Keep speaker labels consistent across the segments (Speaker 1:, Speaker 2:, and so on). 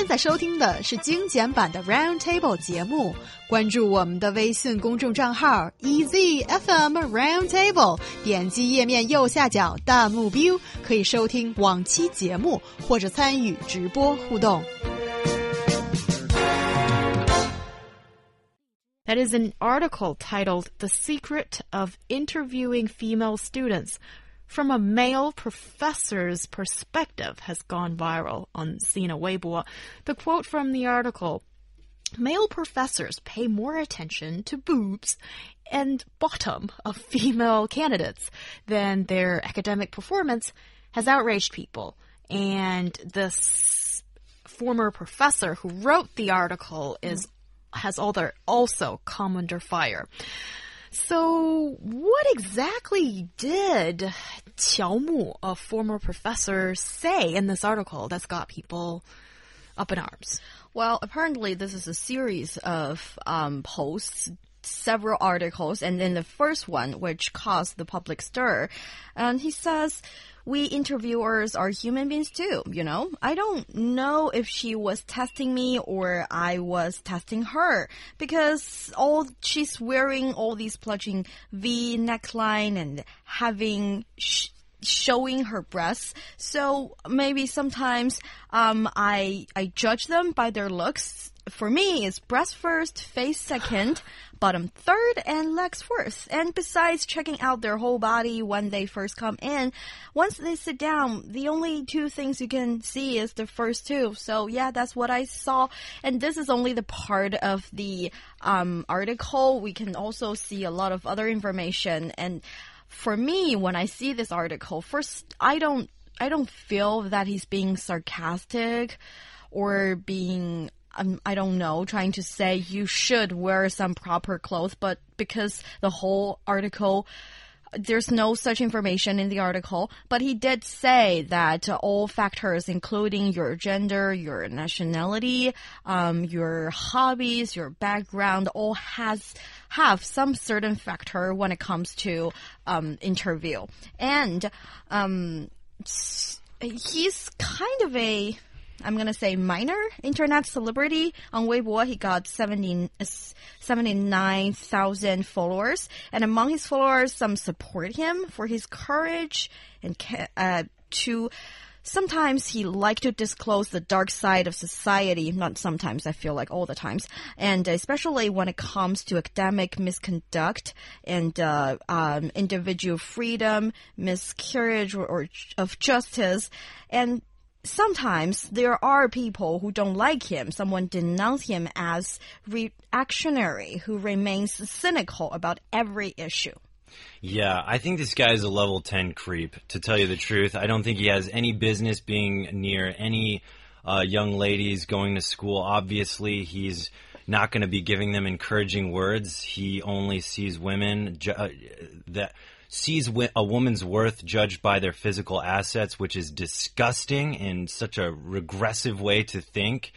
Speaker 1: 在收听的是精简版的 Roundtable 节目，关注我们的微信公众账号 EZFM Roundtable， 点击页面右下角弹幕标，可以收听往期节目或者参与直播互动。
Speaker 2: That is an article titled The Secret of Interviewing Female Students from a Male Professor's Perspective has gone viral on Sina Weibo. The quote from the article, male professors pay more attention to boobs and bottom of female candidates than their academic performance, has outraged people. And this former professor who wrote the article has also come under fire. So what exactly did Qiao Mu, a former professor, say in this article that's got people up in arms?
Speaker 3: Well, apparently this is a series of posts, several articles, and then the first one, which caused the public stir. And he says, we interviewers are human beings too, you know? I don't know if she was testing me or I was testing her because she's wearing all these plunging V neckline and having showing her breasts. So maybe sometimes I judge them by their looks. For me, it's breast first, face second, bottom third, and legs fourth. And besides checking out their whole body when they first come in, once they sit down, the only two things you can see is the first two. So yeah, that's what I saw. And this is only the part of the article. We can also see a lot of other information. And for me, when I see this article, first, I don't feel that he's being sarcastic or being I don't know, trying to say you should wear some proper clothes, but because the whole article, there's no such information in the article, but he did say that all factors, including your gender, your nationality, your hobbies, your background, all have some certain factor when it comes to interview. And he's kind of I'm going to say minor internet celebrity. On Weibo, he got 79,000 followers. And among his followers, some support him for his courage and sometimes he liked to disclose the dark side of society. Not sometimes, I feel like all the times. And especially when it comes to academic misconduct and individual freedom, miscarriage or of justice. And sometimes there are people who don't like him. Someone denounce him as reactionary, who remains cynical about every issue.
Speaker 4: Yeah, I think this guy is a level 10 creep, to tell you the truth. I don't think he has any business being near any young ladies going to school. Obviously, he's not going to be giving them encouraging words. He only sees women sees a woman's worth judged by their physical assets, which is disgusting and such a regressive way to think.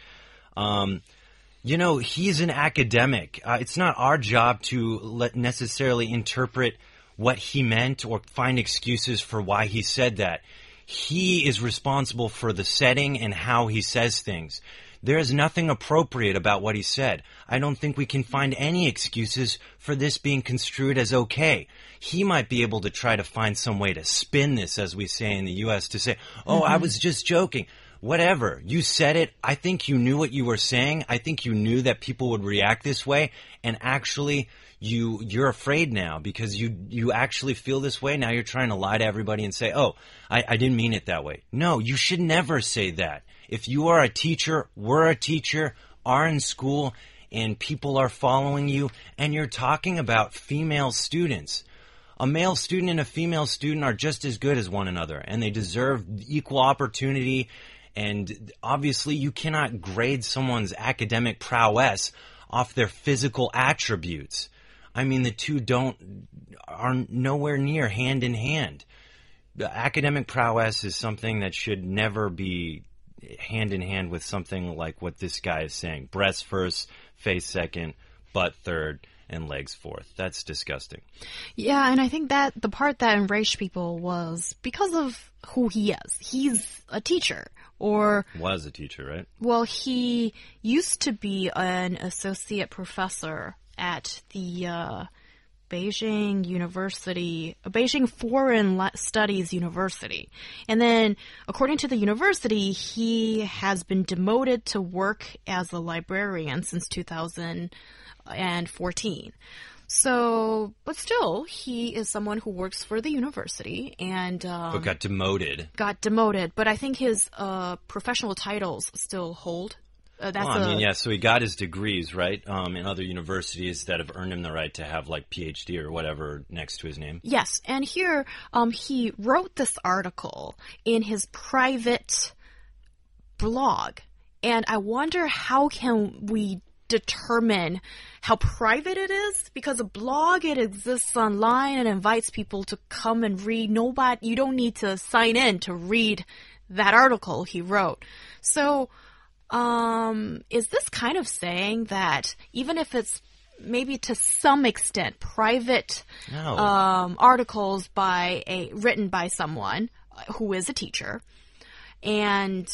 Speaker 4: You know, he's an academic. It's not our job to necessarily interpret what he meant or find excuses for why he said that. He is responsible for the setting and how he says things. There is nothing appropriate about what he said. I don't think we can find any excuses for this being construed as okay. He might be able to try to find some way to spin this, as we say in the U.S., to say, oh, I was just joking. Whatever. You said it. I think you knew what you were saying. I think you knew that people would react this way. And actually, you're afraid now because you actually feel this way. Now you're trying to lie to everybody and say, oh, I didn't mean it that way. No, you should never say that. If you are a teacher, we're a teacher, are in school, and people are following you, and you're talking about female students, a male student and a female student are just as good as one another, and they deserve equal opportunity. And obviously, you cannot grade someone's academic prowess off their physical attributes. I mean, the two are nowhere near hand in hand. The academic prowess is something that should never be hand in hand with something like what this guy is saying. Breast first, face second, butt third, and legs forth. That's disgusting.
Speaker 2: Yeah, and I think that the part that enraged people was because of who he is. He's a teacher, or...
Speaker 4: Was a teacher, right?
Speaker 2: Well, he used to be an associate professor at the Beijing University, Beijing Foreign Studies University. And then, according to the university, he has been demoted to work as a librarian since 2014. So, but still, he is someone who works for the university and...
Speaker 4: but got demoted.
Speaker 2: Got demoted, but I think his professional titles still hold.
Speaker 4: So he got his degrees, right, in other universities that have earned him the right to have, like, PhD or whatever next to his name.
Speaker 2: Yes, and here he wrote this article in his private blog, and I wonder how can we determine how private it is, because a blog, it exists online and invites people to come and read. You don't need to sign in to read that article he wrote. So, is this kind of saying that even if it's maybe to some extent private articles written by someone who is a teacher, and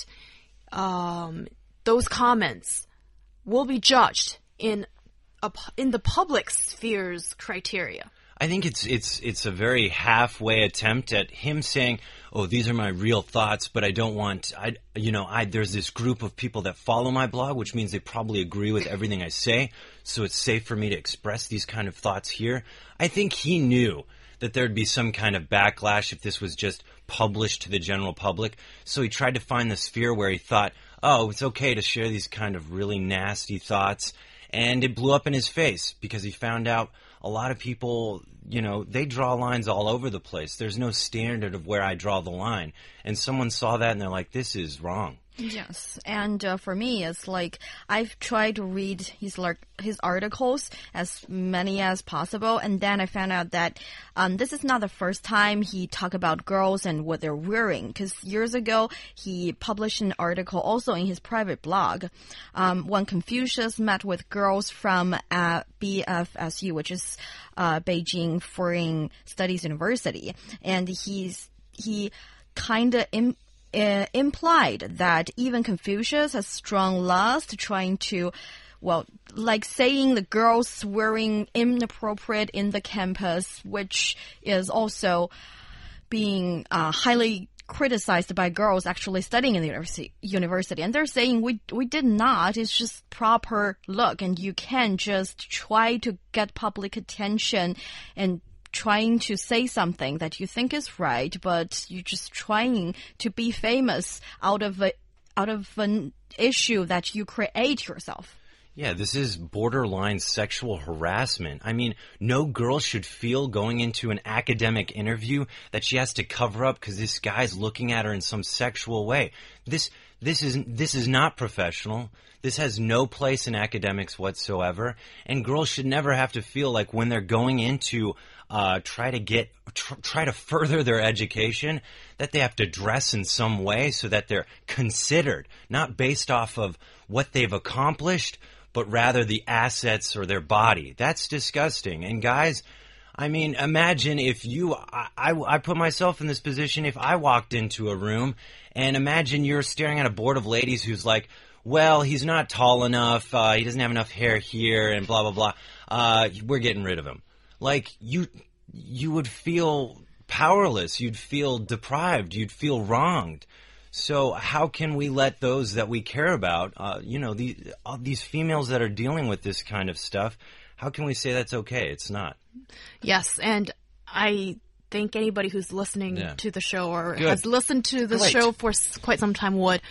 Speaker 2: those comments will be judged in the public sphere's criteria?
Speaker 4: I think it's a very halfway attempt at him saying, "Oh, these are my real thoughts, but I don't want there's this group of people that follow my blog, which means they probably agree with everything I say, so it's safe for me to express these kind of thoughts here." I think he knew that there'd be some kind of backlash if this was just published to the general public, so he tried to find the sphere where he thought, "Oh, it's okay to share these kind of really nasty thoughts," and it blew up in his face because he found out a lot of people, they draw lines all over the place. There's no standard of where I draw the line. And someone saw that and they're like, this is wrong.
Speaker 3: Yes, and for me, it's like I've tried to read his articles, as many as possible, and then I found out that this is not the first time he talked about girls and what they're wearing, because years ago, he published an article also in his private blog when Confucius met with girls from BFSU, which is Beijing Foreign Studies University, and he kind of implied that even Confucius has strong lust, trying to, like saying the girls wearing inappropriate in the campus, which is also being highly criticized by girls actually studying in the university. And they're saying we did not. It's just proper look, and you can't just try to get public attention and trying to say something that you think is right, but you're just trying to be famous out of an issue that you create yourself.
Speaker 4: Yeah, this is borderline sexual harassment. I mean, no girl should feel going into an academic interview that she has to cover up because this guy's looking at her in some sexual way. This is not professional. This has no place in academics whatsoever. And girls should never have to feel like when they're going into try to further their education, that they have to dress in some way so that they're considered, not based off of what they've accomplished, but rather the assets or their body. That's disgusting. And guys, I mean, imagine if I put myself in this position if I walked into a room, and imagine you're staring at a board of ladies who's like, well, he's not tall enough, he doesn't have enough hair here, and blah, blah, blah. We're getting rid of him. Like, you would feel powerless. You'd feel deprived. You'd feel wronged. So how can we let those that we care about, these females that are dealing with this kind of stuff, how can we say that's okay? It's not.
Speaker 2: Yes, and I think anybody who's listening to the show or
Speaker 4: Good.
Speaker 2: has listened to the show for quite some time would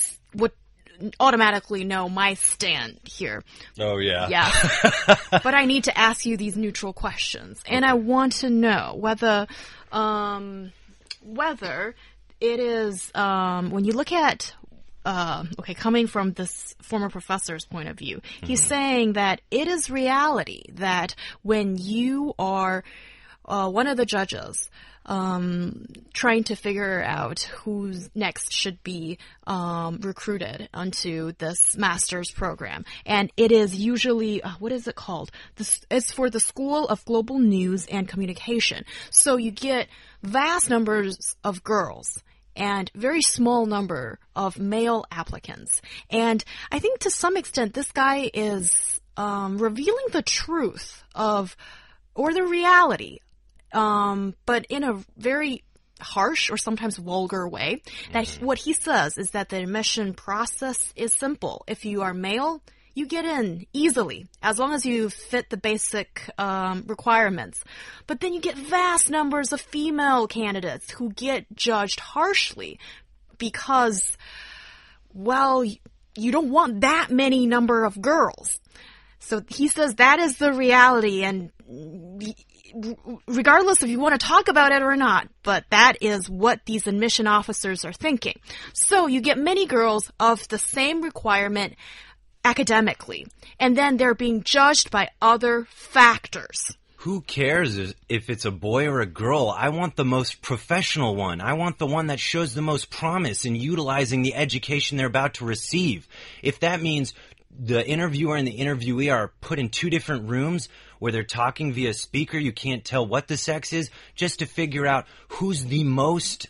Speaker 2: automatically know my stand here.
Speaker 4: Oh, yeah.
Speaker 2: Yeah. But I need to ask you these neutral questions. And I want to know whether it is, when you look at, coming from this former professor's point of view, he's saying that it is reality that when you are one of the judges trying to figure out who next should be recruited onto this master's program. And it is usually, what is it called? It's for the School of Global News and Communication. So you get vast numbers of girls and very small number of male applicants. And I think to some extent this guy is revealing the truth of, or the reality, but in a very harsh or sometimes vulgar way. That what he says is that the admission process is simple. If you are male, you get in easily, as long as you fit the basic requirements. But then you get vast numbers of female candidates who get judged harshly because, well, you don't want that many number of girls. So he says that is the reality, and regardless if you want to talk about it or not, but that is what these admission officers are thinking. So you get many girls of the same requirement academically, and then they're being judged by other factors.
Speaker 4: Who cares if it's a boy or a girl? I want the most professional one. I want the one that shows the most promise in utilizing the education they're about to receive. If that means the interviewer and the interviewee are put in two different rooms where they're talking via speaker, you can't tell what the sex is, just to figure out who's the most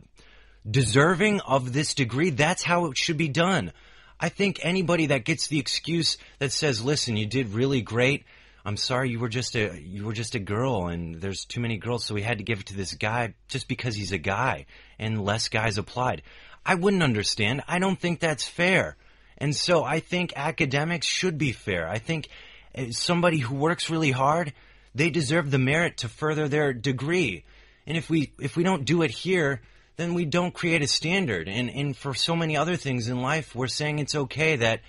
Speaker 4: deserving of this degree, that's how it should be done. I think anybody that gets the excuse that says, listen, you did really great, I'm sorry, you were just a girl and there's too many girls, so we had to give it to this guy just because he's a guy and less guys applied. I wouldn't understand. I don't think that's fair. And so I think academics should be fair. I think somebody who works really hard, they deserve the merit to further their degree. And if we don't do it here, then we don't create a standard. And for so many other things in life, we're saying it's okay that,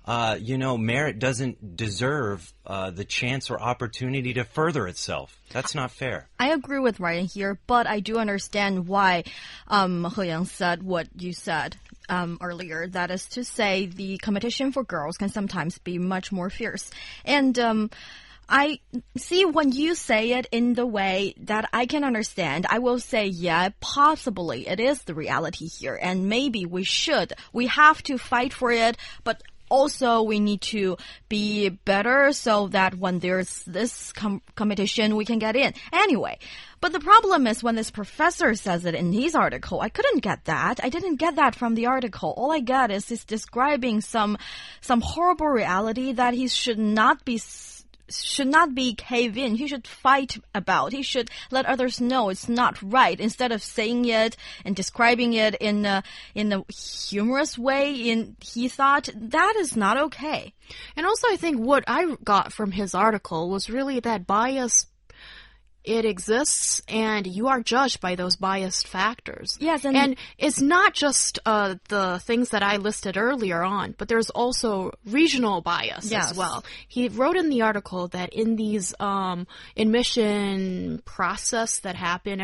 Speaker 4: merit doesn't deserve the chance or opportunity to further itself. That's not fair.
Speaker 3: I agree with Ryan here, but I do understand why He Yang said what you said earlier. That is to say, the competition for girls can sometimes be much more fierce. And I see when you say it in the way that I can understand, I will say, yeah, possibly it is the reality here. And maybe we have to fight for it, but also we need to be better so that when there's this competition, we can get in. Anyway, but the problem is when this professor says it in his article, I couldn't get that. I didn't get that from the article. All I get is he's describing some horrible reality that he should not be cave in. He should fight about. He should let others know it's not right. Instead of saying it and describing it in a humorous way, he thought that is not okay.
Speaker 2: And also I think what I got from his article was really that bias, it exists, and you are judged by those biased factors.
Speaker 3: Yes,
Speaker 2: and it's not just the things that I listed earlier on, but there's also regional bias as well. He wrote in the article that in these admission process that happen,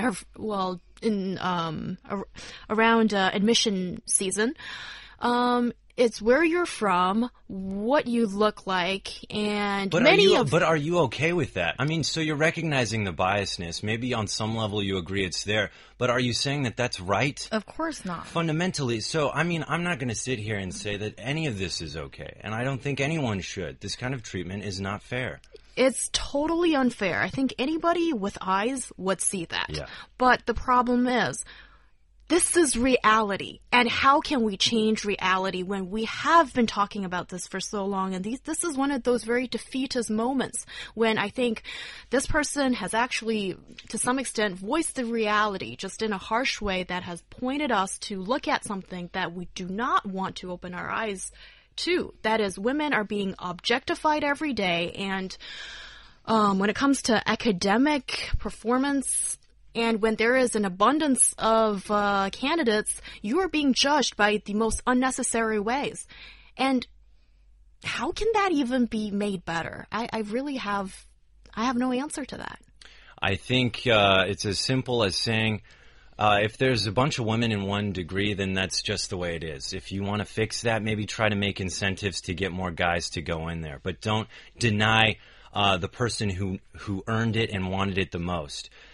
Speaker 2: around admission season, it's where you're from, what you look like, and
Speaker 4: But are you okay with that? I mean, so you're recognizing the biasness. Maybe on some level you agree it's there, but are you saying that that's right?
Speaker 3: Of course not.
Speaker 4: Fundamentally. So, I mean, I'm not going to sit here and say that any of this is okay, and I don't think anyone should. This kind of treatment is not fair.
Speaker 2: It's totally unfair. I think anybody with eyes would see that.
Speaker 4: Yeah.
Speaker 2: But the problem is, this is reality, and how can we change reality when we have been talking about this for so long? And this is one of those very defeatist moments when I think this person has actually, to some extent, voiced the reality just in a harsh way that has pointed us to look at something that we do not want to open our eyes to. That is, women are being objectified every day, and when it comes to academic performance, and when there is an abundance of candidates, you are being judged by the most unnecessary ways. And how can that even be made better? I have no answer to that.
Speaker 4: I think it's as simple as saying, if there's a bunch of women in one degree, then that's just the way it is. If you want to fix that, maybe try to make incentives to get more guys to go in there. But don't deny the person who earned it and wanted it the most.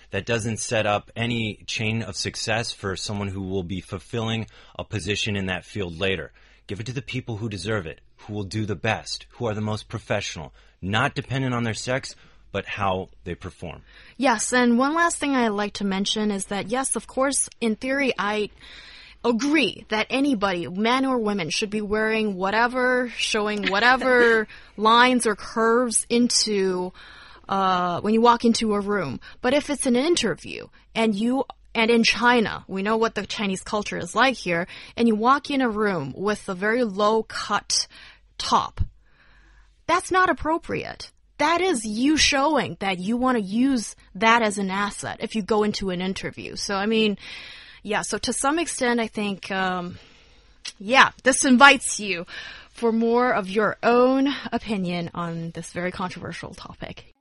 Speaker 4: that doesn't set up any chain of success for someone who will be fulfilling a position in that field later. Give it to the people who deserve it, who will do the best, who are the most professional, not dependent on their sex, but how they perform.
Speaker 2: Yes, and one last thing I'd like to mention is that, yes, of course, in theory, I agree that anybody, men or women, should be wearing whatever, showing whatever lines or curves into when you walk into a room. But if it's an interview and in China, we know what the Chinese culture is like here, and you walk in a room with a very low-cut top, that's not appropriate. That is you showing that you want to use that as an asset if you go into an interview. So, I mean, yeah, so to some extent, I think, this invites you for more of your own opinion on this very controversial topic.